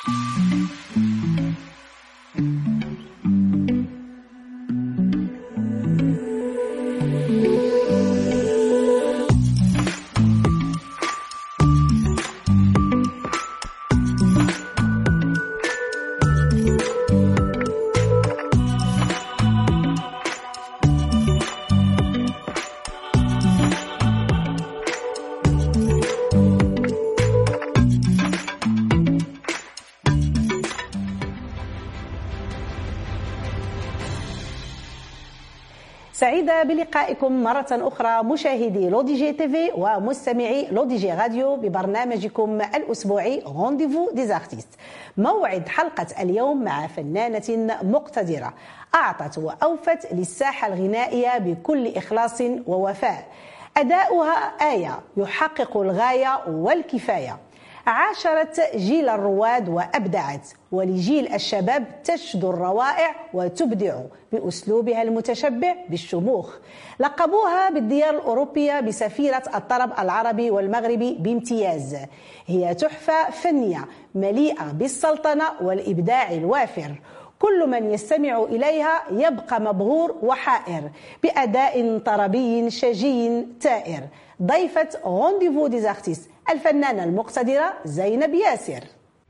سعيدة بلقائكم مرة أخرى مشاهدي لو دي جي تيفي ومستمعي لو دي جي راديو ببرنامجكم الأسبوعي رونديفو دي زارتيست. موعد حلقة اليوم مع فنانة مقتدرة أعطت وأوفت للساحة الغنائية بكل إخلاص ووفاء. أداؤها آية يحقق الغاية والكفاية. عاشرت جيل الرواد وأبدعت، ولجيل الشباب تشدو الروائع وتبدع بأسلوبها المتشبع بالشموخ. لقبوها بالديار الأوروبية بسفيرة الطرب العربي والمغربي بامتياز. هي تحفة فنية مليئة بالسلطنة والإبداع الوافر. كل من يستمع إليها يبقى مبهور وحائر بأداء طربي شجي تائر. ضيفة رونديفو دي زارتيست الفنانة المقتدرة زينب ياسر.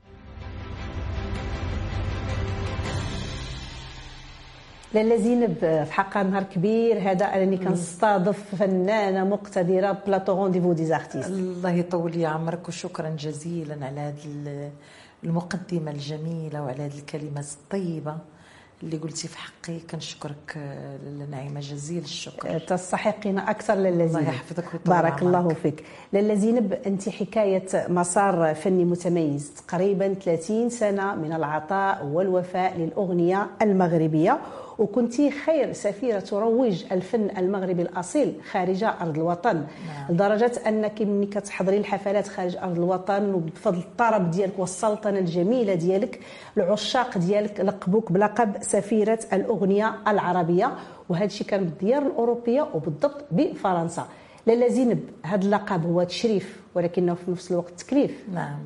لاله زينب، في حقها نهار كبير هذا انني كنستضيف فنانه مقتدره بلاطو رونديفو دي زارتيست. الله يطول لي عمرك وشكرا جزيلا على هذه المقدمه الجميله وعلى هذه الكلمات الطيبه اللي قلتي في حقي. كنشكرك نعيمه جزيل الشكر. تستحقين اكثر لاله زينب. الله يحفظك ويطول بارك الله فيك. لاله زينب، انت حكايه مسار فني متميز، تقريبا 30 سنه من العطاء والوفاء للاغنيه المغربيه، وكنتي خير سفيرة تروج الفن المغربي الأصيل خارج أرض الوطن. نعم. لدرجة أنك ملي كتحضري الحفلات خارج أرض الوطن وبفضل الطرب ديالك والسلطنة الجميلة ديالك العشاق ديالك لقبوك بلقب سفيرة الأغنية العربية، وهذا الشيء كان بالديار الأوروبية وبالضبط بفرنسا. لاله زينب، هذا اللقب هو تشريف ولكنه في نفس الوقت تكليف. نعم.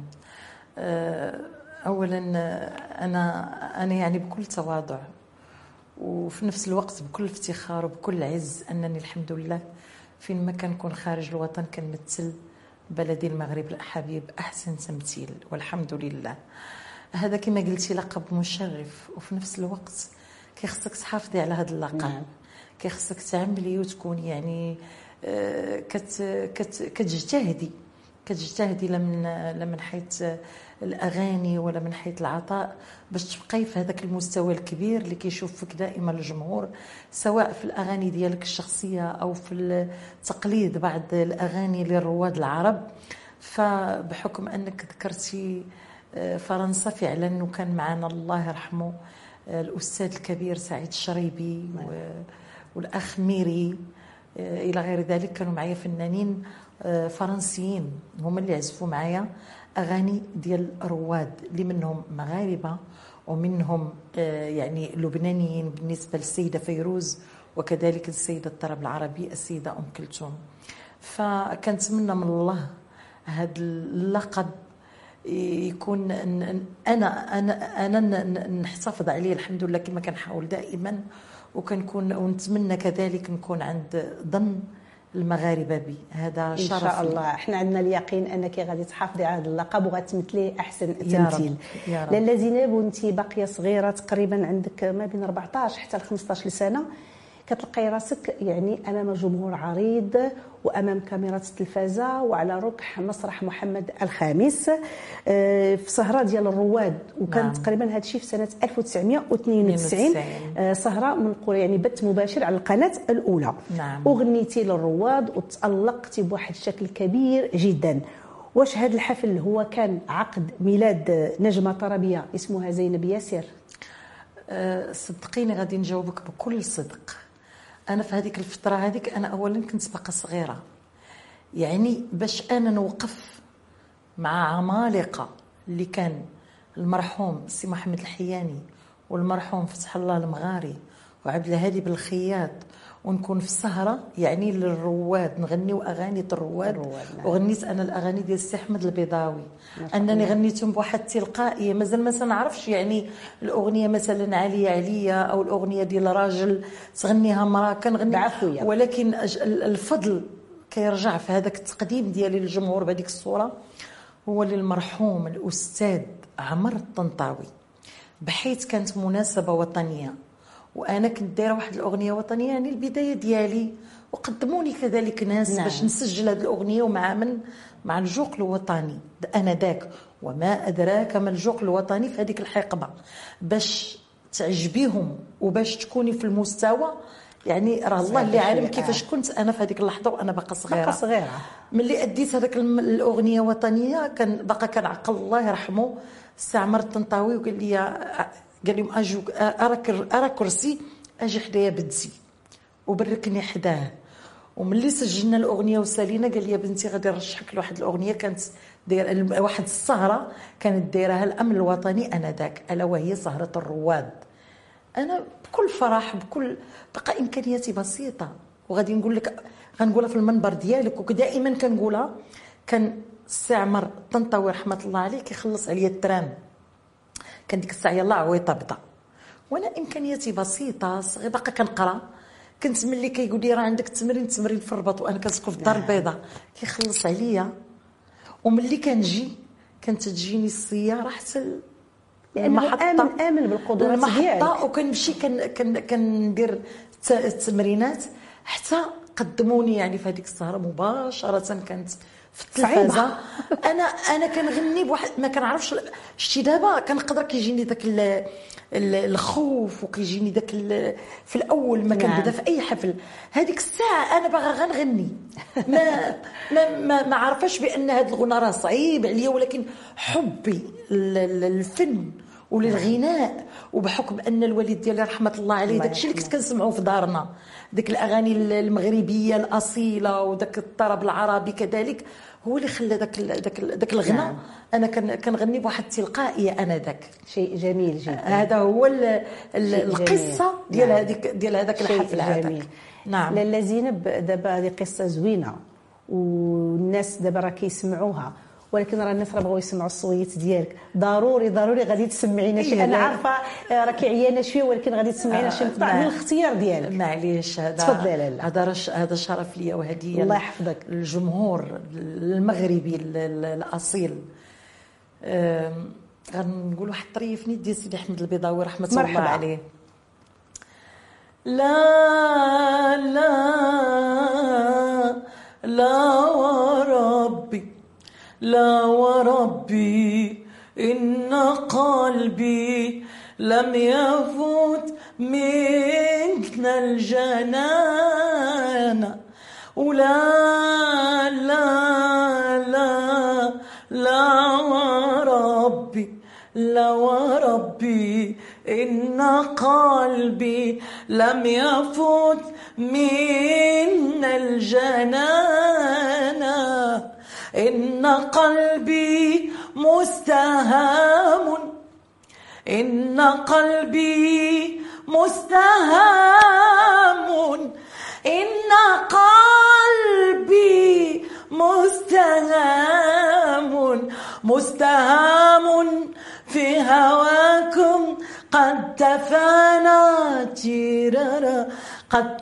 أولا أنا يعني بكل تواضع وفي نفس الوقت بكل افتخار وبكل عز أنني الحمد لله فين ما كنكون خارج الوطن كنمثل بلدي المغرب الحبيب أحسن تمثيل والحمد لله. هذا كما قلتي لقب مشرف، وفي نفس الوقت كيخصك تحافظي على هذا اللقب. كيخصك تعملي وتكوني يعني كتجتهدي لا من حيث الاغاني ولا من حيث العطاء باش تبقاي في هذاك المستوى الكبير اللي كيشوف فيك دائما الجمهور، سواء في الاغاني ديالك الشخصيه او في تقليد بعض الاغاني للرواد العرب. فبحكم انك ذكرتي فرنسا، فعلا وكان معنا الله يرحمه الاستاذ الكبير سعيد الشريبي والاخ ميري الى غير ذلك، كانوا معايا فنانين فرنسيين هما اللي عزفوا معايا اغاني ديال رواد اللي منهم مغاربه ومنهم يعني لبنانيين بالنسبه للسيده فيروز، وكذلك السيده الطرب العربي السيده ام كلثوم. فكنتمنى من الله هذا اللقب يكون انا نحتفظ عليه الحمد لله كما كنحاول دائما، وكنكون ونتمنى كذلك نكون عند ظن المغاربه بي. هذا شرف ان شاء الله. احنا عندنا اليقين انك غادي تحافظي على هذا اللقب وغتمثليه احسن تمثيل. لاله زينب، وانت باقيه صغيره تقريبا عندك ما بين 14 حتى ل 15 سنه، كتلقاي راسك يعني امام جمهور عريض وامام كاميرات التلفازه وعلى ركح مسرح محمد الخامس في سهره ديال الرواد، وكان نعم. تقريبا هذا الشيء في سنه 1992 سهره منقول يعني بث مباشر على القناه الاولى. نعم. وغنيتي للرواد وتالقتي بواحد الشكل كبير جدا. واش هذا الحفل هو كان عقد ميلاد نجمه طربيه اسمها زينب ياسر؟ صدقيني غادي نجاوبك بكل صدق. انا في هذيك الفتره هذيك انا اولا كنت باقا صغيره، يعني باش انا نوقف مع عمالقه اللي كان المرحوم سي محمد الحياني والمرحوم فتح الله المغاري وعبد الهادي بالخياط ونكون في السهره يعني للرواد، نغنيو اغاني الرواد. نعم. وغنيت انا الاغاني ديال السي احمد البيضاوي، انني غنيتهم بواحد التلقائيه، مازال ما نعرفش يعني الاغنيه مثلا عليا عليا او الاغنيه ديال راجل تغنيها مراه كنغني بعفوية. ولكن الفضل كيرجع في هذاك التقديم ديالي للجمهور بهذيك الصوره هو للمرحوم الاستاذ عمر الطنطاوي، بحيث كانت مناسبه وطنيه وانا كنت دايره واحد الاغنيه وطنيه يعني البدايه ديالي، وقدموني كذلك ناس نعم. باش نسجل هذه الاغنيه ومع من مع الجوق الوطني انا ذاك وما ادراك ما الجوق الوطني في هذيك الحقبه باش تعجبيهم وباش تكوني في المستوى يعني راه الله اللي عالم كيفاش كنت انا في هذيك اللحظه وانا باقا صغيره. ملي اديت هذاك الاغنيه وطنيه كان باقا كنعقل الله يرحمه السي عمر الطنطاوي وقال لي قال لهم اجوك ارى كرسي اجي حدايا بنتي وبركني حداه. وملي سجلنا الاغنيه وسالينا قال لي يا بنتي غادي نرشحك لواحد الاغنيه كانت دايره واحد السهره كانت دايرها الامن الوطني انذاك الا وهي سهره الرواد. انا بكل فرح بكل بقى امكانياتي بسيطه وغادي نقول لك غنقولها في المنبر ديالك ودائما كنقولها. كان السي عمر الطنطاوي رحمه الله عليه كيخلص عليا الترام، كان ديك الساعه يلاه عويطه بدا وانا امكانياتي بسيطه صغيره باقا كنقرا. كنت ملي كيقول لي راه عندك تمرين في الرباط وانا كنسكن في الدار البيضاء كيخلص عليا. وملي كنجي كانت تجيني السياره حتى المحطه امن بالقدرات ديالك المحطه وكنمشي كندير التمرينات حتى قدموني يعني في هذيك السهره مباشره كانت في التلفازه. انا كنغني بواحد ما كنعرفش شتي دابا كنقدر كيجيني داك الخوف وكيجيني داك في الاول ما كنبدا في اي حفل هذيك الساعه انا باغا غنغني ما عارفاش بان هذا الغنى راه صعيب عليا ولكن حبي للفن وللغناء وبحكم ان الوالد ديالي رحمه الله عليه داكشي اللي كنت كنسمعه في دارنا ديك الاغاني المغربيه الاصيله وداك الطرب العربي كذلك هو اللي خلى داك الغنى. نعم. انا كنغني بواحد التلقائيه انا ذاك شيء جميل جدا. هذا هو القصه ديال نعم. ديال هذاك الحفل هذاك. نعم لاله زينب دابا هذه قصه زوينه والناس دابا راه كيسمعوها ولكن راه الناس راه بغاو يسمعوا الصويت ديالك ضروري غادي تسمعينا شي. انا عارفه راكي عيانه شويه ولكن غادي تسمعينا شي مقطع من الاختيار ديالك. معليش هذا تفضلي لاله. هذا شرف ليا وهديه الله يحفظك الجمهور المغربي الاصيل. غنقول واحد الطريف نيت ديال سيدي احمد البيضاوي رحمه الله عليه. لا لا لا وربي لا وربي إن قلبي لم يفوت من الجنان ولا لا لا لا وربي لا وربي إن قلبي لم يفوت من الجنان إن قلبي مستهام إن قلبي مستهام إن قلبي مستهام في هواكم قد تفانى تيرارا قد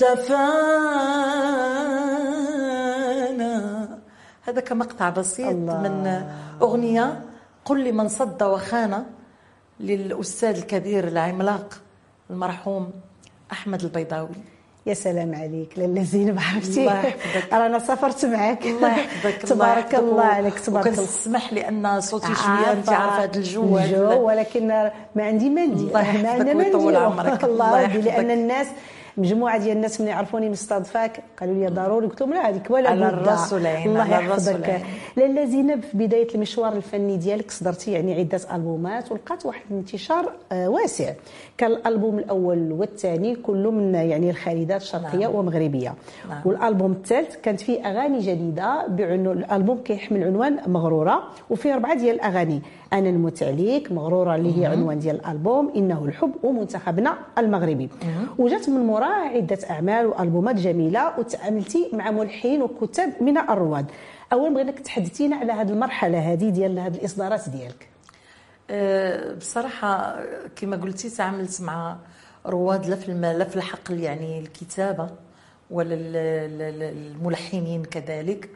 تفانى. هذا كمقطع بسيط الله. من أغنية قل لي من صد وخان للأستاذ الكبير العملاق المرحوم أحمد البيضاوي. يا سلام عليك لاله زينب عرفتي الله يحفظك انا سافرت معك الله يحفظك تبارك الله عليك تبارك الله. وكنسمح لي ان صوتي شويه انت عارفه هذا الجو ولكن ما عندي ما ندير الله يحفظك ويطول عمرك الله يحفظك لان الناس مجموعه ديال الناس ملي عرفوني مستضفاك قالوا لي ضروري قلت لهم لا هذيك ولا على الراس والعين. الله يحفظك لاله زينب. في بدايه المشوار الفني ديالك صدرتي يعني عده البومات ولقات واحد الانتشار واسع. كان الالبوم الاول والثاني كله من يعني الخالدات شرقيه نعم. ومغربيه نعم. والالبوم الثالث كانت فيه اغاني جديده بعنوان الالبوم كيحمل عنوان مغروره وفيه 4 ديال الاغاني انا نموت عليك مغروره اللي هي عنوان ديال الالبوم انه الحب ومنتخبنا المغربي. وجات من موراه عدة أعمال وألبومات جميلة، وتعاملتي مع ملحنين وكتاب من الرواد. أولا بغيناك تحدثينا على هذه المرحلة هذه ديال هذه الإصدارات ديالك. بصراحة كما قلتي تعاملت مع رواد لا في الحقل يعني الكتابة ولا الملحنين كذلك.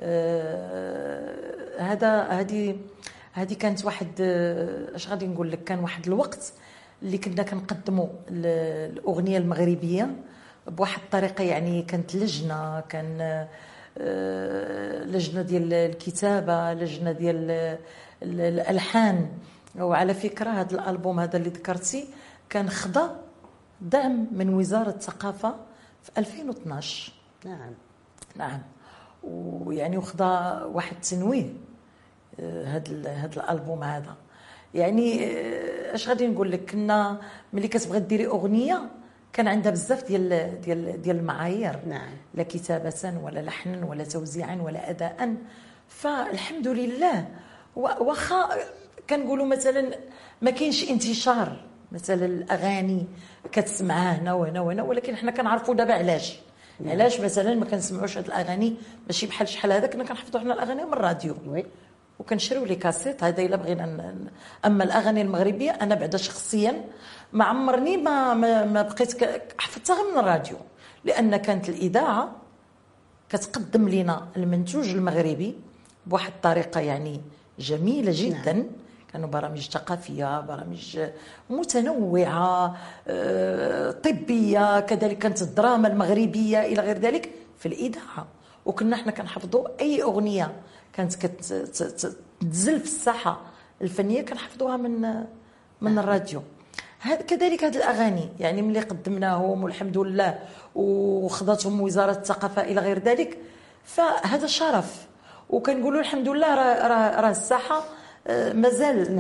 هذه كانت واحد اش غادي نقول لك، كان واحد الوقت اللي كنا كنقدموا الاغنيه المغربيه بواحد الطريقه، يعني كانت لجنه، كان لجنه ديال الكتابه، لجنه ديال الالحان. وعلى فكره هذا الالبوم هذا اللي ذكرتي كان خضع دعم من وزاره الثقافه في 2012. نعم. ويعني وخضع واحد التنويه هذا الالبوم هذا. يعني اش غادي نقول لك، كنا ملي كتبغي ديري اغنيه كان عندها بزاف ديال المعايير. نعم. لا كتابه ولا لحنا ولا توزيعا ولا اداء. فالحمد لله واخا كنقولوا مثلا ما كاينش انتشار مثلا الاغاني كتسمعها هنا وهنا وهنا، ولكن حنا كنعرفوا دابا علاش. علاش مثلا ما كنسمعوش هاد الاغاني؟ ماشي بحال شحال هذا كنا كنحفظوا حنا الاغاني من الراديو وكنشريو لي كاسيت هذا الا بغينا. اما الاغاني المغربيه انا بعدا شخصيا ما عمرني ما بقيت حفظتها غير من الراديو، لان كانت الاذاعه كتقدم لنا المنتوج المغربي بواحد الطريقه يعني جميله جدا. نعم. كانوا برامج ثقافيه، برامج متنوعه، طبيه، كذلك كانت الدراما المغربيه الى غير ذلك في الاذاعه. وكنا احنا كنحفظوا اي اغنيه كانت كتنزل في الساحه الفنيه كنحفظوها من الراديو. كذلك هذه الاغاني يعني ملي قدمناهم والحمد لله وخضتهم وزاره الثقافه الى غير ذلك، فهذا شرف. وكنقولوا الحمد لله راه الساحه مازال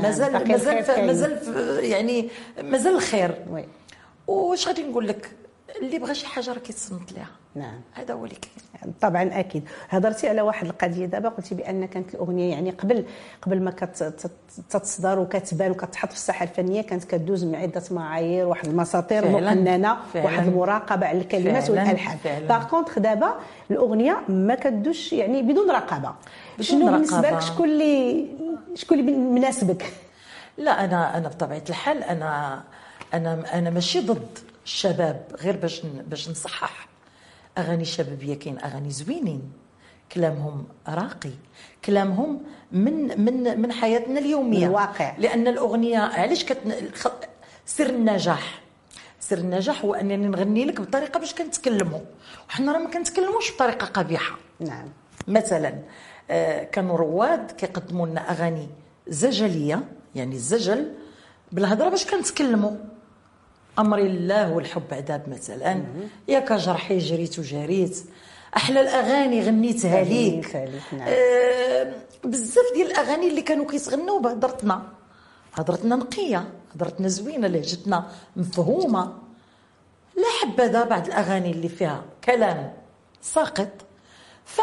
يعني مازال الخير. واش غادي نقول لك، اللي بغى شي حاجه راه كيتصنت ليها. نعم، هذا هو اللي كاين. طبعا اكيد. هضرتي على واحد القضيه دابا، قلتي بان كانت الاغنيه يعني قبل ما كتصدر وكتبان وكتحط في الساحه الفنيه كانت كدوز من عده معايير، واحد المساطير مقننه، واحد المراقبه على الكلمات والالحان. باغ كونطخ دابا الاغنيه ما كدوش يعني بدون رقابه. شنو بالنسبه لك، شكون اللي مناسبك؟ لا انا بطبيعه الحال انا ماشي ضد الشباب، غير باش نصحح. اغاني شبابيه كاين اغاني زوينين، كلامهم راقي، كلامهم من حياتنا اليوميه، من الواقع. لان الاغنيه علاش سر النجاح هو انني نغني لك بطريقه باش كنتكلموا، وحنا راه ما كنتكلموش بطريقه قبيحه. نعم. مثلا كانوا رواد كيقدموا لنا اغاني زجليه، يعني الزجل بالهضره باش كنتكلموا. امري الله والحب عذاب مثلا، يا كجرحي جريت وجريت، احلى الاغاني غنيتها ليك. نعم. بزاف ديال الاغاني اللي كانوا كيتغنوا بهضرتنا نقيه، هضرتنا زوينه، لهجتنا مفهومه. لا حبذا بعض الاغاني اللي فيها كلام ساقط. ف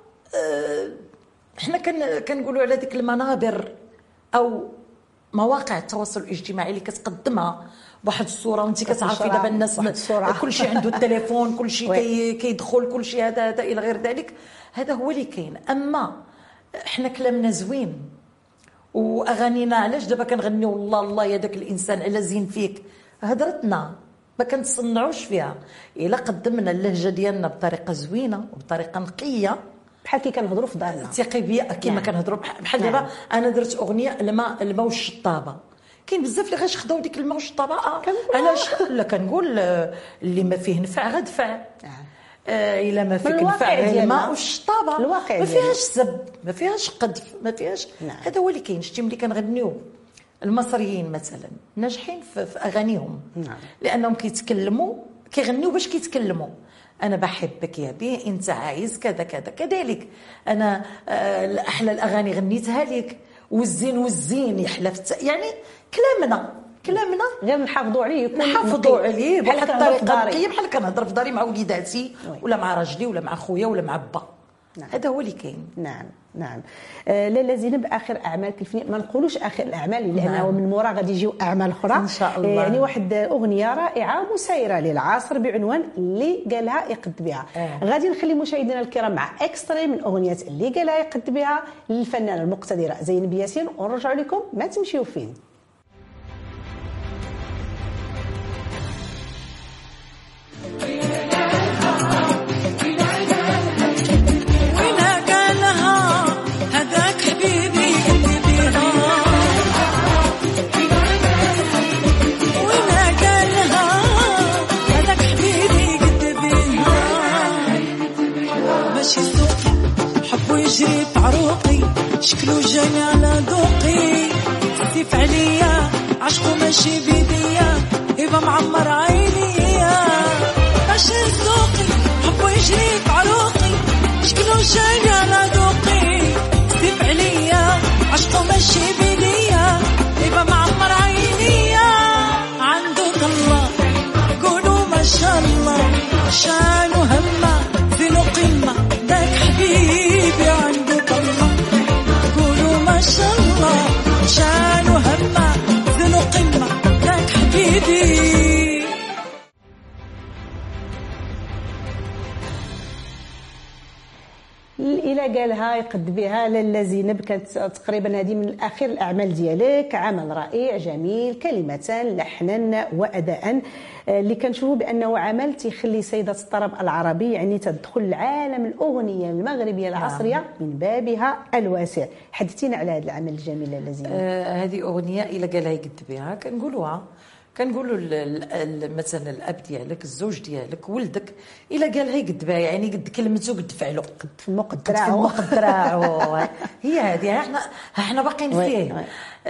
احنا كنقولوا على ديك المنابر او مواقع التواصل الاجتماعي اللي كتقدمها بواحد الصوره، وانت كتعرفي دابا الناس كل شيء عنده التليفون، كل شيء كيدخل، كل شيء هذا الى غير ذلك. هذا هو اللي كاين. اما احنا كلامنا زوين واغانينا، علاش دابا كنغنيو والله الله يا داك الانسان على زين فيك؟ هضرتنا ما كنتصنعوش فيها. الا قدمنا اللهجه ديالنا بطريقه زوينه وبطريقه نقيه، بحال كي كنهضروا في دارنا، ثقي بيا كيما كنهضروا بحال دابا. انا درت اغنيه الماء والشطابه، كاين بزاف اللي غيشخداو ديك الماء والشطابه. علاش؟ لا كنقول اللي ما فيه نفع غدفع. الا ما فيك نفع الماء والشطابه، ما فيهاش سب، ما فيهاش قذف، ما فيهاش. هذا هو اللي كاين. شتي ملي كنغنيو المصريين مثلا ناجحين في اغانيهم، لانهم كيغنيو باش كيتكلموا. انا بحبك يا بيه، انت عايز كذا كذا. كذلك انا احلى الاغاني غنيتها لك، والزين يحلى يعني كلامنا غير نحافظوا عليه، نحافظوا عليه بواحد الطريقه نقيه، بحال كنهضر في داري مع وليداتي ولا مع راجلي ولا مع خويا ولا مع با. نعم. هذا هو اللي كاين. نعم نعم. لاله زينب، اخر اعمالك الفنيه، ما نقولوش اخر الاعمال لانه نعم. من مورا غادي يجيو اعمال اخرى ان شاء الله. يعني واحد اغنيه رائعه مسيره للعصر بعنوان اللي قالها يقد بها. غادي نخلي مشاهدينا الكرام مع اكستري من اغنيه اللي قالها يقد بها للفنانه المقتدره زينب ياسين، ونرجع لكم ما تمشيو فين. يجري بعروقي شكلو جاني على ذوقي، سيف عليا عشقو ماشي بيديا يبقى معمر عينيا. ماشي ذوقي حبو يجري بعروقي شكلو جاني على ذوقي، سيف عليا عشقو ماشي بيديا يبقى معمر عينيا. عنده طلة قولوا ما شاء الله، شانو همه زينو قمة داك حبيبي عنده طلة قولوا ما شاء الله، شانو همه زينو قمة داك حبيبي. الى قالها يقد بها لاله زينب، كانت تقريبا هذه من اخر الاعمال ديالك، عمل رائع جميل، كلمتان لحنا واداء اللي كنشوفوا بانه عمل تيخلي سيده الطرب العربي يعني تدخل لعالم الاغنيه المغربيه العصريه من بابها الواسع. حدثينا على هذا العمل الجميل لاله زينب. هذه اغنيه الى قالها يقد بها كنقولوا مثلا الاب ديالك، الزوج ديالك، ولدك، الا قالها يقد بها يعني قد كلمته قد فعله قد في مقدراعه هي هذه احنا باقيين فيه.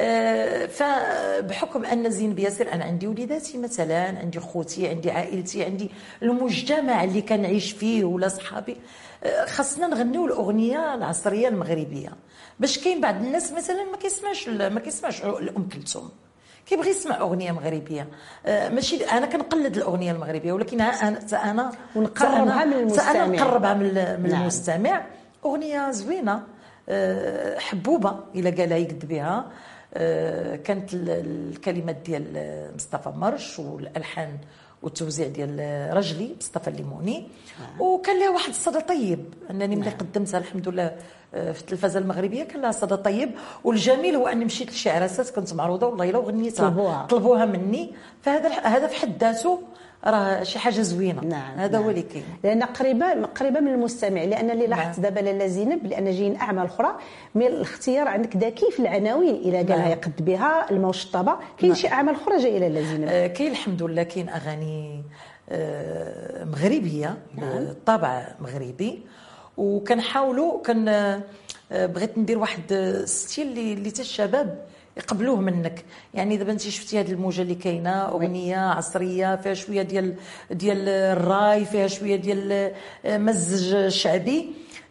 فبحكم ان زينب ياسر انا عندي وليداتي مثلا، عندي خوتي، عندي عائلتي، عندي المجتمع اللي كنعيش فيه ولا صحابي، خاصنا نغنيو الاغنيه العصريه المغربيه. باش كاين بعض الناس مثلا ما كيسمعش الام كلثوم، كيبغي يسمع اغنيه مغربيه. ماشي انا كنقلد الاغنيه المغربيه، ولكن انا ونقربها من المستمع. اغنيه زوينه حبوبه الى قالها يقد بها. كانت الكلمات ديال مصطفى مرش والالحان والتوزيع ديال رجلي مصطفى الليموني. وكان لها واحد الصدى طيب انني ملي قدمتها الحمد لله في التلفزه المغربيه كان لها صدى طيب. والجميل هو اني مشيت لشي عراسات كنت معروضه والله الا وغنيتها طلبوها مني، فهذا في حد ذاته راه شي حاجه زوينه. نعم هذا هو اللي كاين، لان قريبه من المستمع. لان اللي لاحظت دابا لاله زينب لان جايين اعمال اخرى من الاختيار عندك ذكي في العناوين الى قالها يقد بها الموشطبه. كاين شي اعمال اخرى جايه لاله زينب؟ كاين الحمد لله، كاين اغاني مغربيه بالطابع مغربي، وكنحاولوا بغيت ندير واحد ستيل اللي حتى الشباب يقبلوه منك. يعني دابا انت شفتي هذه الموجه اللي كاينه، اغنيه عصريه فيها شويه ديال الراي، فيها شويه ديال مزج شعبي.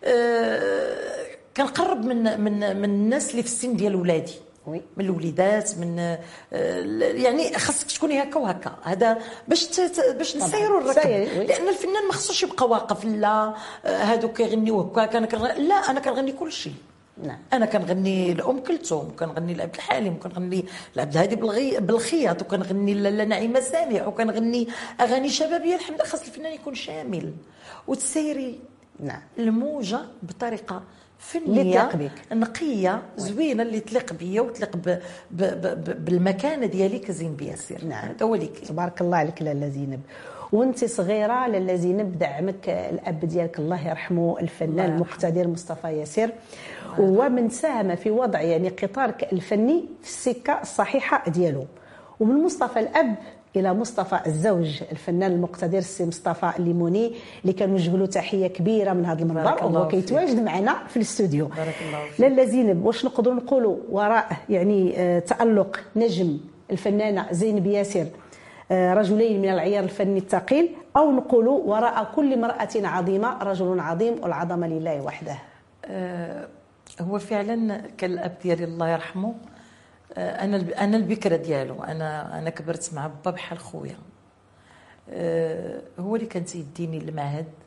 كنقرب من الناس اللي في السن ديال ولادي، من الوليدات، من يعني خاصك تكوني هكا وهكا. هذا باش نسيروا الركب، لان الفنان ما خصوش يبقى واقف لا هادو كيغنيو هكا لا انا كنغني كل شيء. نعم. انا كنغني لام كلثوم، وكنغني لعبد الحليم، وكنغني لعبد الهادي بالخياط، وكنغني لنعيمه سامع، وكنغني اغاني شبابيه. الحمد لله خاص الفنان يكون شامل وتسيري الموجه بطريقه فنيه نقيه زوينه اللي تليق بيا وتليق بالمكانه ديالي كزينب ياسر. نعم. هذا هو اللي كاين. تبارك الله عليك لاله زينب. وانت صغيره لاله زينب دعمك الاب ديالك الله يرحمه الفنان المقتدر مصطفى ياسر، ومن ساهم في وضع يعني قطارك الفني في السكه الصحيحه ديالو. ومن مصطفى الاب الى مصطفى الزوج الفنان المقتدر السي مصطفى الليموني اللي كنوجه له تحيه كبيره من هذا المنبر وهو كيتواجد معنا في الاستوديو. بارك الله فيك. لاله زينب، واش نقدروا نقولوا وراء يعني تألق نجم الفنانه زينب ياسر رجلين من العيار الفني الثقيل، او نقولوا وراء كل امراه عظيمه رجل عظيم والعظمه لله وحده؟ هو فعلا كالاب ديالي الله يرحمه، انا البكره ديالو، انا كبرت مع با بحال خويا. هو اللي كان تيديني للمعهد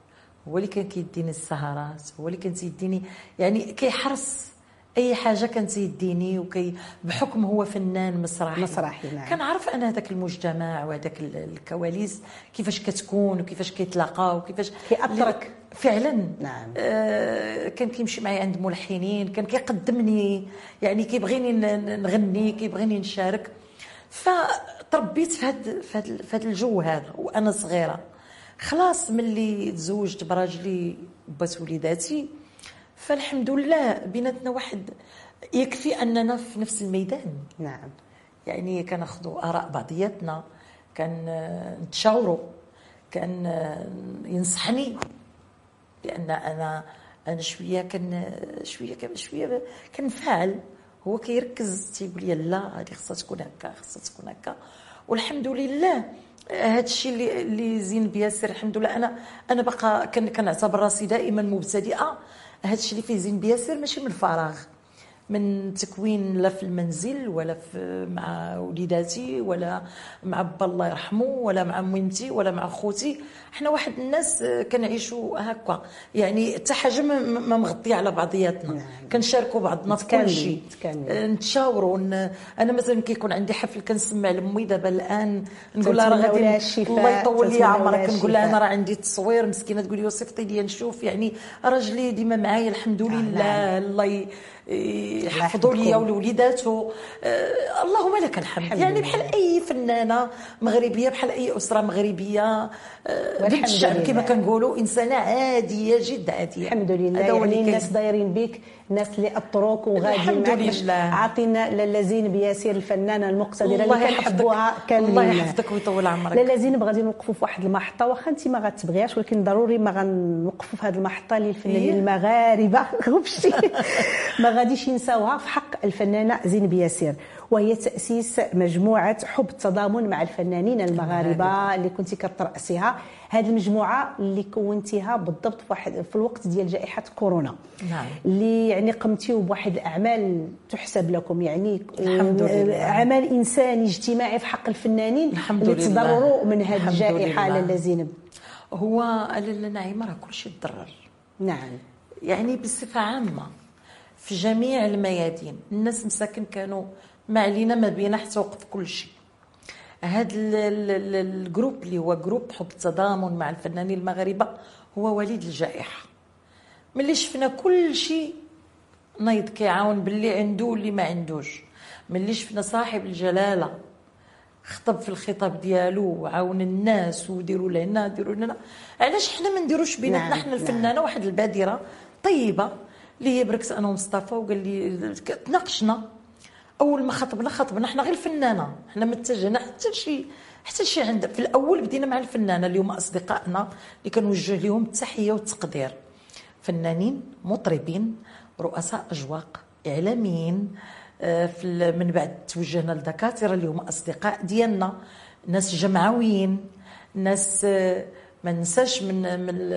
هو اللي كان كيديني السهرات، هو اللي كان تيديني يعني كيحرص اي حاجه كانت يديني بحكم هو فنان مسرحي نعم. كنعرف انا هذاك المجتمع وهذاك الكواليس كيفاش كتكون وكيفاش كيتلاقاو وكيفاش كيأثرك فعلا. نعم. كان كيمشي معايا عند ملحنين، كان كيقدمني يعني كيبغيني نغني، كيبغيني نشارك. فتربيت في هذا الجو هذا وانا صغيره. خلاص ملي تزوجت براجلي وبات وليداتي، فالحمد لله بيناتنا واحد يكفي اننا في نفس الميدان. نعم. يعني كناخذوا اراء بعضياتنا، كان نتشاوروا، كان ينصحني، لان انا شويه كنفعل، هو كيركز تيقول لي لا هذه خصها تكون هكا، خصها تكون هكا. والحمد لله هذا الشيء اللي زين بياسر. الحمد لله انا باقا كنعتبر راسي دائما مبتدئه. هذا الشيء اللي فيه زين بياسر ماشي من الفراغ، من تكوين لا في المنزل ولا مع وليداتي ولا مع با الله يرحمه ولا مع ميمتي ولا مع خوتي. حنا واحد الناس كنعيشوا هكا، يعني حتى حاجه ما مغطيه على بعضياتنا. نعم. كنشاركوا بعضنا في كل شيء، نتشاوروا. انا مثلا كيكون عندي حفل كنسمع لامي دابا الان نقول لها راه غادي الله يطول لي عمرك، نقول لها انا راه عندي التصوير مسكينه، تقول لي صيفطي لي نشوف. يعني راجلي ديما معايا الحمد لله. الله يحفظوا لي ولوليداته. اللهم لك الحمد. يعني بحال اي فنانه مغربيه، بحال اي اسره مغربيه بنت الشعب كما كنقولوا، انسانه عاديه جدا عاديه. الحمد لله. يعني الناس دايرين بك، الناس اللي اطروك وغاديين معك. باش عاطينا لاله زينب ياسر الفنانه المقتدره اللي كنحبوها كاملين. الله يحفظك ويطول عمرك. لاله زينب غادي نوقفوا في واحد المحطه، واخا انت ما غتبغيهاش، ولكن ضروري ما غنوقفوا في هذه المحطه للفنانين المغاربه غبشتي ما غاديش ينساوها في حق الفنانه زينب ياسر، وهي تأسيس مجموعة حب التضامن مع الفنانين المغاربة اللي كنتي كترأسيها. هذه المجموعة اللي كونتيها بالضبط في الوقت ديال جائحة كورونا. نعم. اللي يعني قمتيو بواحد الأعمال تحسب لكم، يعني الحمد لله عمل إنساني اجتماعي في حق الفنانين الحمد اللي لله تضرروا من هذه الجائحة. لاله زينب، هو لاله نعيمة راه كلشي تضرر. نعم. يعني بصفة عامة في جميع الميادين الناس مساكن كانوا ما علينا ما بينا حتى وقف كل شيء. هذا الجروب اللي هو جروب حب التضامن مع الفنانين المغاربه هو وليد الجائحه. ملي شفنا كل شيء نايض كيعاون باللي عنده واللي ما عندوش، ملي شفنا صاحب الجلاله خطب في الخطاب ديالو وعاون الناس وديروا لنا ديروا لنا، علاش حنا ما نديروش بيناتنا؟ حنا الفنانه واحد البادره طيبه اللي هي بركس انا ومصطفى، وقال لي تناقشنا. اول ما خطبنا حنا غير الفنانه، حنا ما اتجهنا حتى شي عند. في الاول بدينا مع الفنانه اللي هما اصدقائنا اللي كنوجه لهم التحيه والتقدير، فنانين مطربين رؤساء اجواق اعلاميين. من بعد توجهنا للدكاتره اللي هما اصدقاء ديالنا، ناس جمعويين، ناس ما ننساش من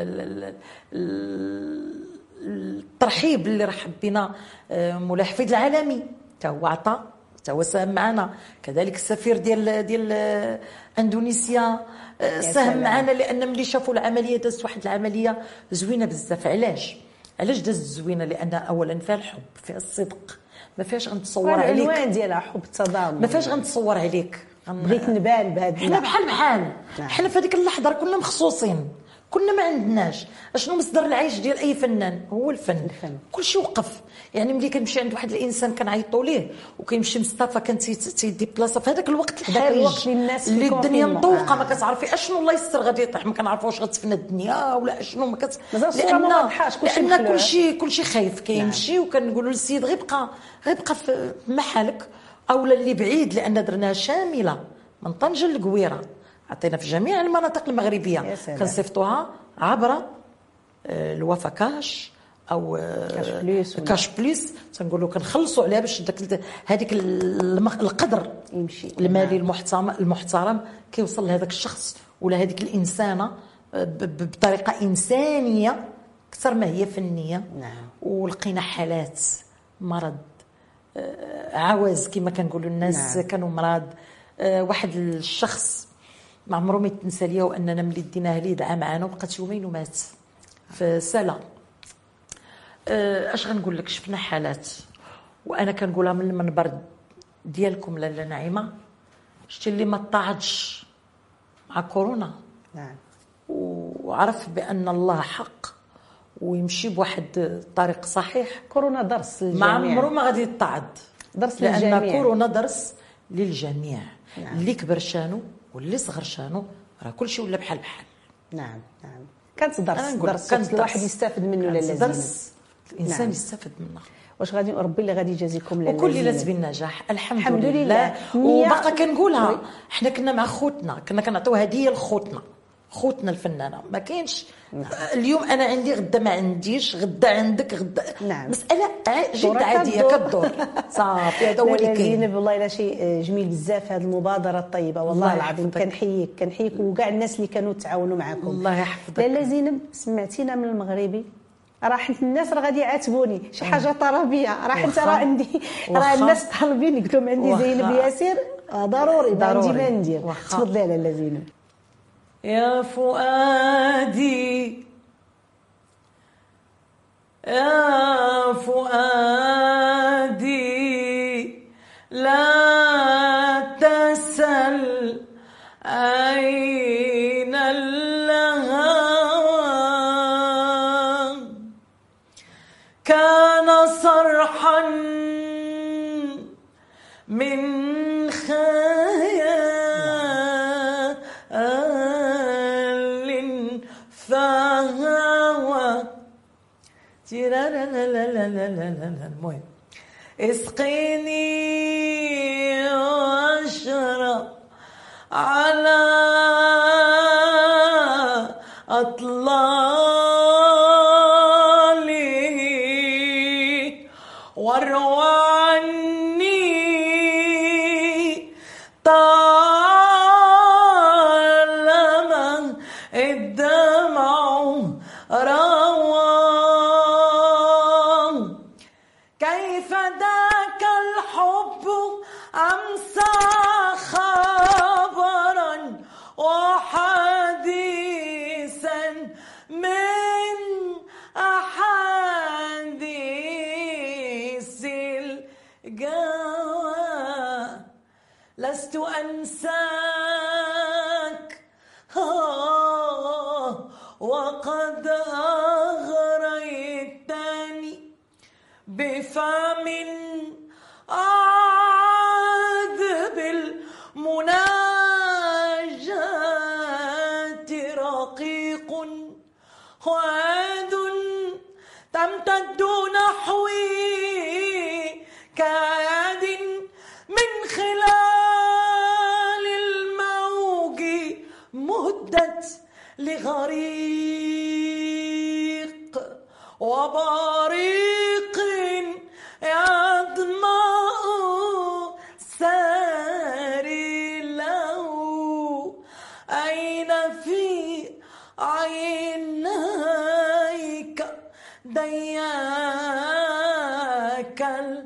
الترحيب اللي رحب بنا مولاي حفيظ العالمي، تا هو عطى، تا هو ساهم معنا. كذلك السفير ديال اندونيسيا ساهم معنا، لان ملي شافوا العمليه دازت واحد العمليه زوينه بزاف. علاش دازت زوينه؟ لان اولا فيها الحب، فيها الصدق، ما فيهاش غنتصور عليك. العنوان ديالها حب التضامن، ما فيهاش غنتصور عليك. بغيت نبان بهذا. حنا بحال حنا في هذيك اللحظه كنا مخصوصين، كنا ما عندناش اشنو مصدر العيش ديال اي فنان هو الفن. كلشي وقف. يعني ملي كنمشي عند واحد الانسان كنعيطوا ليه، وكيمشي مصطفى كان تيدي بلاصه في هذاك الوقت الحرج اللي الدنيا مطوقه، ما كتعرفي اشنو الله يستر غادي يطيح، ما كنعرفوش غتفنى الدنيا ولا اشنو ما لان كلشي خايف كيمشي. وكنقولوا للسيد غير بقى في محلك، اولا اللي بعيد، لان درناها شامله من طنجه للقويره، عطينا في جميع المناطق المغربيه، كنصيفطوها عبر الوفا كاش او كاش بليس تنقولوا كنخلصوا عليها باش هذيك القدر يمشي المالي المحترم كيوصل لهذاك الشخص ولا هذيك الانسانه بطريقه انسانيه اكثر ما هي فنيه. ولقينا حالات مرض عوز كما كنقولوا الناس. كانوا مرض. واحد الشخص ما عمره ما يتنسى ليا، واننا ملي ديناه ليه دعا معنا وبقات يومين ومات. في سلا. اش غنقول لك، شفنا حالات وانا كنقولها من المنبر ديالكم لاله نعيمه، شتي اللي ما طاعدش مع كورونا نعم، وعرف بان الله حق ويمشي بواحد الطريق صحيح، كورونا درس للجميع، ما عمره ما غادي يطاعد، درس لان للجميع. كورونا درس للجميع. نعم. اللي كبر شانو واللي صغر شانو، راه كلشي ولا بحال. نعم نعم، كانت درس، أنا نقول درس كانت الواحد درس. يستافد منه كانت لاله درس الانسان نعم. يستافد منه. واش غادي ربي اللي غادي يجازيكم لاله وكل ليله بالنجاح الحمد, الحمد لله, لله. وباقا كنقولها، حنا كنا مع خوتنا، كنا كنعطيو هديه لخوتنا، خوتنا الفنانه. ما كاينش اليوم انا عندي غدا ما عنديش، غدا عندك غدا. نعم. مساله جد عاديه كدور صافي. هذا هو اللي كاين. زينب والله لا شيء جميل بزاف هذه المبادره الطيبه، والله العظيم كنحييك وكاع الناس اللي كانوا تعاونوا معكم. الله يحفظك. لاله زينب سمعتينا من المغربي، راح الناس راه غادي يعاتبوني شي حاجه طربيه، راح انت راه عندي راه الناس طالبين، قلت لهم عندي زينب ياسر ضروري ما ندير. تفضلي لاله زينب. يا فؤادي يا فؤادي لا تسل أين الهوى، كان صرحا من المهم اسقيني واشرب على اطلالي واروى عني طالما الدمع روى. كيف ذاك الحب أمسى خبرا وحديثا من أحاديث الجوى، لست أنساك وقد أغريتني بفم عاد بالمناجاة رقيق وعاد تمتد نحوي كعاد من خلال الموج مدت لغريق وبريق يضمأ ساري له. أين في عينيك دياك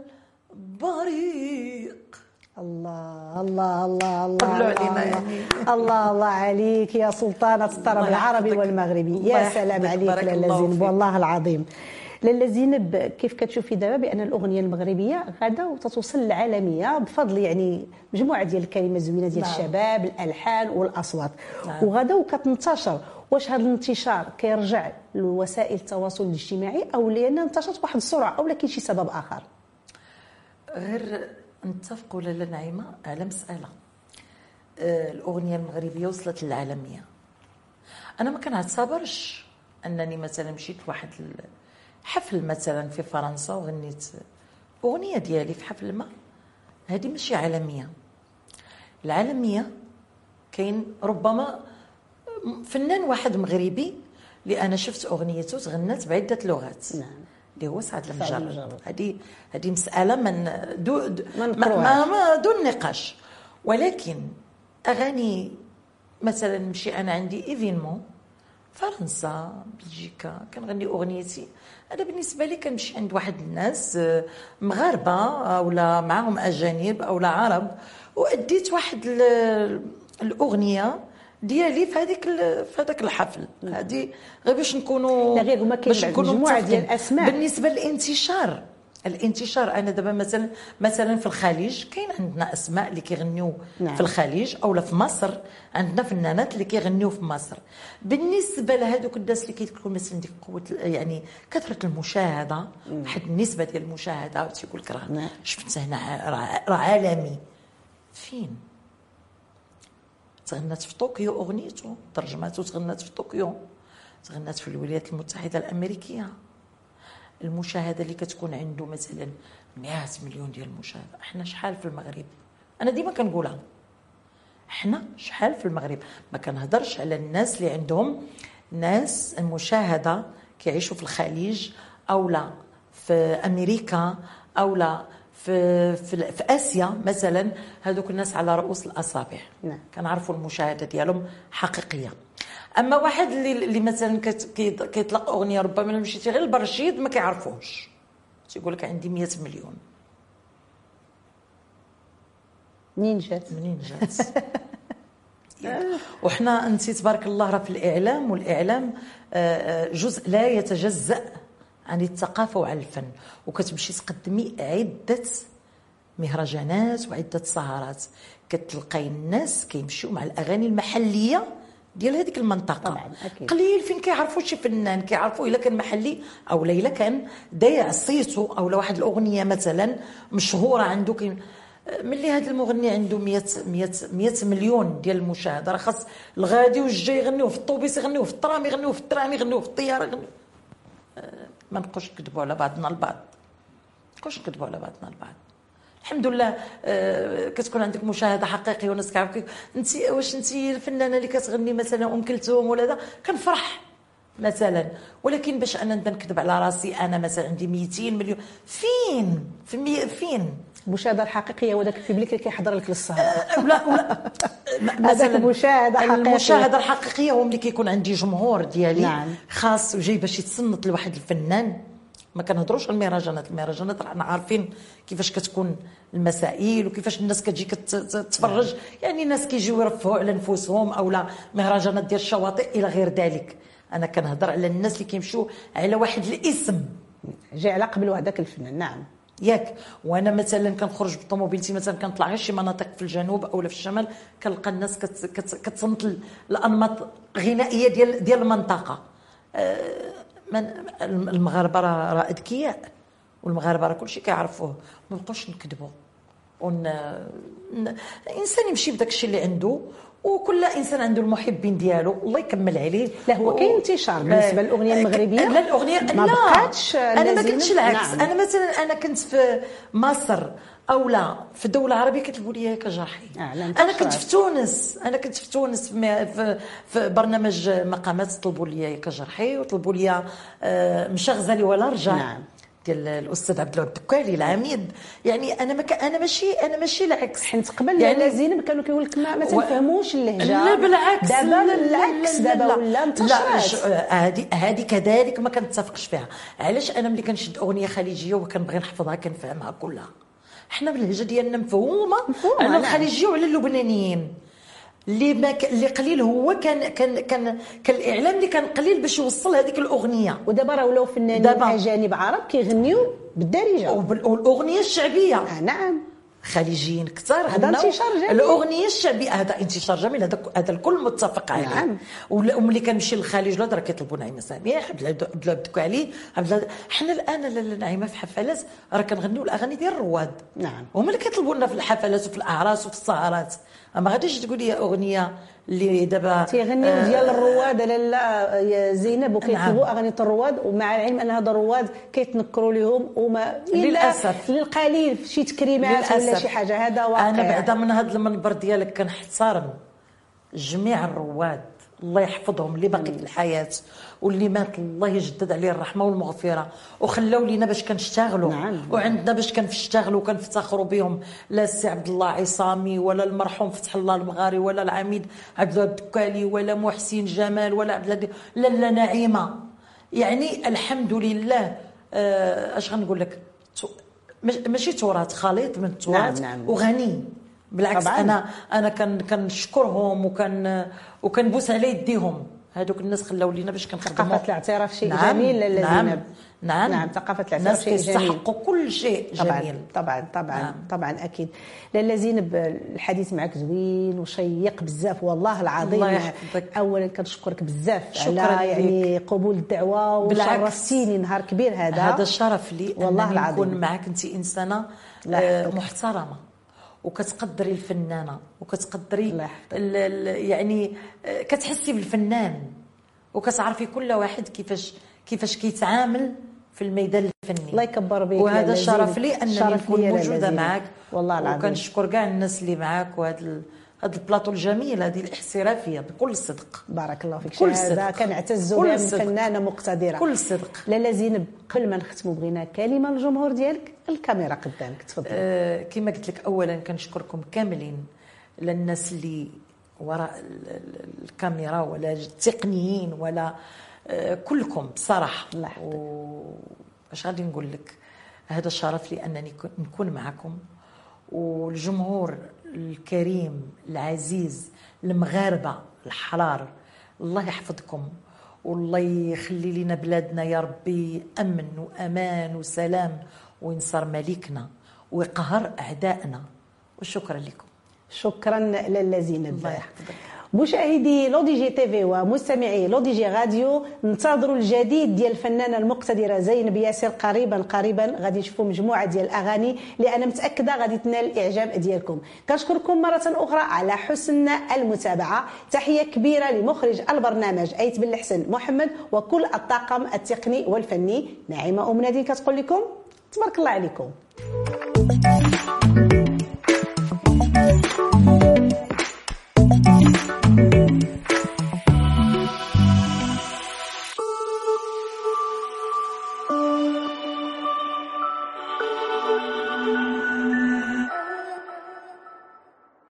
البريق. الله الله الله الله علينا يعني. الله الله عليك يا سلطانة الطرب العربي والمغربي. يا سلام عليك لاله زينب، والله العظيم. لاله زينب، كيف كتشوفي دابا بان الاغنيه المغربيه غادا وتتوصل للعالميه بفضل يعني مجموعه ديال الكلمات زوينه ديال الشباب، الالحان والاصوات، وغادا وكتنتشر. واش هذا الانتشار كيرجع لوسائل التواصل الاجتماعي او لان انتشرت بواحد السرعه او كاين شي سبب اخر؟ غير نتفقوا لاله نعيمه على مساله، الاغنيه المغربيه وصلت للعالميه. انا ما كنعتبرش انني مثلا مشيت لواحد حفل مثلا في فرنسا وغنيت اغنيه ديالي في حفل ما، هذه ماشي عالميه. العالميه كاين ربما فنان واحد مغربي اللي انا شفت اغنيته تغنت بعده لغات، اللي هو سعد المجرد. هذه مساله من دون نقاش. ولكن اغاني مثلا نمشي انا عندي ايفينمون فرنسا بلجيكا كنغني اغنيتي، انا بالنسبه لي كنمشي عند واحد الناس مغاربه اولا معاهم اجانب اولا عرب، واديت واحد الاغنيه ديالي في هذاك الحفل. هذه غير باش نكونوا، لا غير هما كاين مجموعه ديال الاسماء. بالنسبه للانتشار، انا دابا مثلا في الخليج كاين عندنا اسماء اللي كيغنيو في الخليج، اولا في مصر عندنا فنانات اللي كيغنيو في مصر. بالنسبه لهذوك الناس اللي كيتكون مثلا ديك قوه يعني كثره المشاهده، واحد النسبه ديال المشاهده تيقول لك راه شفت هنا راه عالمي. فين تغنات في طوكيو اغنيته ترجماته، تغنات في طوكيو، تغنات في الولايات المتحده الامريكيه. المشاهده اللي كتكون عنده مثلا 100 مليون ديال المشاهده، احنا شحال في المغرب؟ انا ديما كنقولها، احنا شحال في المغرب؟ ما كنهضرش على الناس اللي عندهم ناس المشاهده كيعيشوا في الخليج او لا في امريكا او لا في اسيا مثلا. هذوك الناس على رؤوس الاصابع كنعرفوا المشاهده ديالهم حقيقيه. اما واحد اللي مثلا كيطلق اغنيه ربما مشيتي غير البرشيد ما كيعرفوش، تيقول لك عندي 100 مليون. منين جات وحنا انت تبارك الله راه في الاعلام، والاعلام جزء لا يتجزأ عن الثقافه وعن الفن، وكتمشي تقدمي عده مهرجانات وعده سهرات، كتلقاي الناس كيمشيو مع الاغاني المحليه ديال هذيك المنطقه. طبعا أكيد. قليل فين كيعرفوا شي فنان، كيعرفوا الا كان محلي او الا كان ضايع صيته، او واحد الاغنيه مثلا مشهوره عنده ملي هذا المغني عنده 100 مليون ديال المشاهده، راه خاص الغادي والجاي يغنيوه في الطوبيس، يغنيوه في الترام، يغنيوه في الترام، يغنيوه في الطياره، يغنيوه. ما نبقوش نكذبوا على بعضنا البعض، الحمد لله. كتكون عندك مشاهده حقيقيه وناس كيعرفوك انت. واش انت الفنانه اللي كتغني مثلا كلثوم ولا هذا كنفرح مثلا، ولكن باش انا نبدا نكذب على راسي انا مثلا عندي 200 مليون، فين المشاهده الحقيقيه وداك الببليك اللي كيحضر لك للسهره؟ ولا مثلا المشاهده الحقيقيه هو ملي كيكون عندي جمهور ديالي خاص وجاي باش يتصنت لواحد الفنان. ما كنهضروش على المهرجانات رانا عارفين كيفاش كتكون المسائل وكيفاش الناس كتجي كتتفرج، يعني الناس كيجيو يرفهوا على نفوسهم، اولا مهرجانات ديال الشواطئ الى غير ذلك. انا كنهضر على الناس اللي كيمشيو على واحد الاسم جاي على قبل هذاك الفنان. نعم ياك. وانا مثلا كنخرج بالطوموبيلتي مثلا كنطلع غير شي مناطق في الجنوب او في الشمال، كنلقى الناس كتصنت الانماط الغنائيه ديال المنطقه. المغاربه راه اذكياء، والمغاربه راه كلشي كيعرفوه، ما نبقاوش نكذبوا. الانسان يمشي بداك الشيء اللي عنده، وكل انسان عنده المحبين ديالو، الله يكمل عليه. لا هو كاين انتشار بالنسبه للاغنيه المغربيه. لا الاغنيه ما بقاتش. انا ما كنتش العكس. نعم. انا مثلا انا كنت في مصر او لا في الدوله العربيه كتلبوا لي كجرحي. انا كنت في تونس في برنامج مقامات طلبوا لي كجرحي، وطلبوا لي مشى غزالي ولا رجع. نعم. ديال الاستاذ عبد الله الدكالي العميد. يعني انا ماشي العكس. حيت قبل يعني زينب كانوا كيقول لك ما تفهموش اللهجه. لا بالعكس، دابا العكس، دابا ولا انتشرت. هذه كذلك ما كنتفقش فيها. علاش انا ملي كنشد اغنيه خليجيه وكنبغي نحفظها كنفهمها كلها. حنا باللهجه ديالنا مفهومه على الخليجيه وعلى اللبنانيين. اللي قليل هو كان الاعلام اللي كان قليل باش يوصل هذيك الاغنيه. ودابا راه ولاو فنانين اجانب عرب كيغنيو بالدارجه والاغنيه الشعبيه. نعم خليجيين كثار هذا انتشار جميل. الاغنيه الشعبيه هذا انتشار جميل، هذا الكل متفق عليه. نعم. وملي كنمشي للخليج راه كيطلبوا نعيمه سميح، عبد الله بدكالي، حنا الان نعيمه في حفلات راه كنغنيو الاغاني ديال الرواد. نعم. هما اللي كيطلبوا لنا في الحفلات وفي الاعراس وفي السهرات. ما غاديش تقول لي اغنيه اللي دابا تيغنيو ديال الرواد لاله زينب وكيطلبوا اغاني الرواد، ومع العلم ان هذا الرواد كيتنكروا لهم وما للاسف للقليل شي تكريمات ولا شي حاجه. هذا واقع. انا بعدا من هذا المنبر ديالك كنحترم جميع الرواد، الله يحفظهم اللي باقي في الحياه واللي مات الله يجدد عليه الرحمه والمغفره، وخلاو لينا باش كنشتغلوا. نعم. وعندنا باش كنشتغلوا وكنفتخروا بهم. لا السي عبد الله عصامي ولا المرحوم فتح الله المغاري ولا العميد عبد الله الدكالي ولا محسن جمال ولا عبد الله لا نعيمه. يعني الحمد لله. اش غنقول لك، ماشي تراث، خليط من التراث. نعم. وغني بالعكس طبعاً. انا كنشكرهم وكنبوس على يديهم. هذوك الناس خلاو لينا باش كنخدموا. ثقافه الاعتراف شيء نعم. جميل لاله نعم. زينب. نعم ثقافه الاعتراف شيء جميل. يستحقوا كل شيء جميل. طبعا طبعا اكيد. لاله زينب الحديث معك زوين وشيق بزاف والله العظيم. الله يحفظك. اولا كنشكرك بزاف شكراً على يعني ليك. قبول الدعوه وشرفتيني نهار كبير هذا الشرف لي والله انني العظيم. نكون معك. انت انسانه محترمه وكتقدري الفنانه وكتقدري يعني كتحسي بالفنان وكتعرفي كل واحد كيفاش كيتعامل في الميدان الفني. الله يكبر بك. وهذا الشرف لي انني نكون موجوده معك والله العظيم. وكنشكر كاع الناس اللي معك وهذا البلاطو الجميل، هذه الاحترافيه بكل صدق. بارك الله فيك. هذا كنعتز بها من فنانه مقتدره. كل صدق. لاله زينب قبل ما نختموا بغينا كلمه للجمهور ديالك. الكاميرا قدامك تفضل. كما قلت لك اولا كنشكركم كاملين للناس اللي وراء الكاميرا ولا التقنيين ولا كلكم بصراحه. واش غادي نقول لك، هذا الشرف لي انني نكون معكم. والجمهور الكريم العزيز المغاربه الحرار، الله يحفظكم والله يخلي لنا بلادنا يا ربي امن وامان وسلام، وينصر ملكنا ويقهر اعدائنا. وشكرا لكم. شكرا لاله زينب. الله يحفظك. مشاهدي لودي جي تيفي ومستمعي لودي جي راديو، ننتظروا الجديد ديال الفنانه المقتدره زينب ياسر. قريبا غادي نشوفوا مجموعه ديال الاغاني اللي انا متاكده غادي تنال الاعجاب ديالكم. كنشكركم مره اخرى على حسن المتابعه. تحيه كبيره لمخرج البرنامج ايت بن الحسن محمد وكل الطاقم التقني والفني. نعيمه ام نادي كتقول لكم تبارك الله عليكم.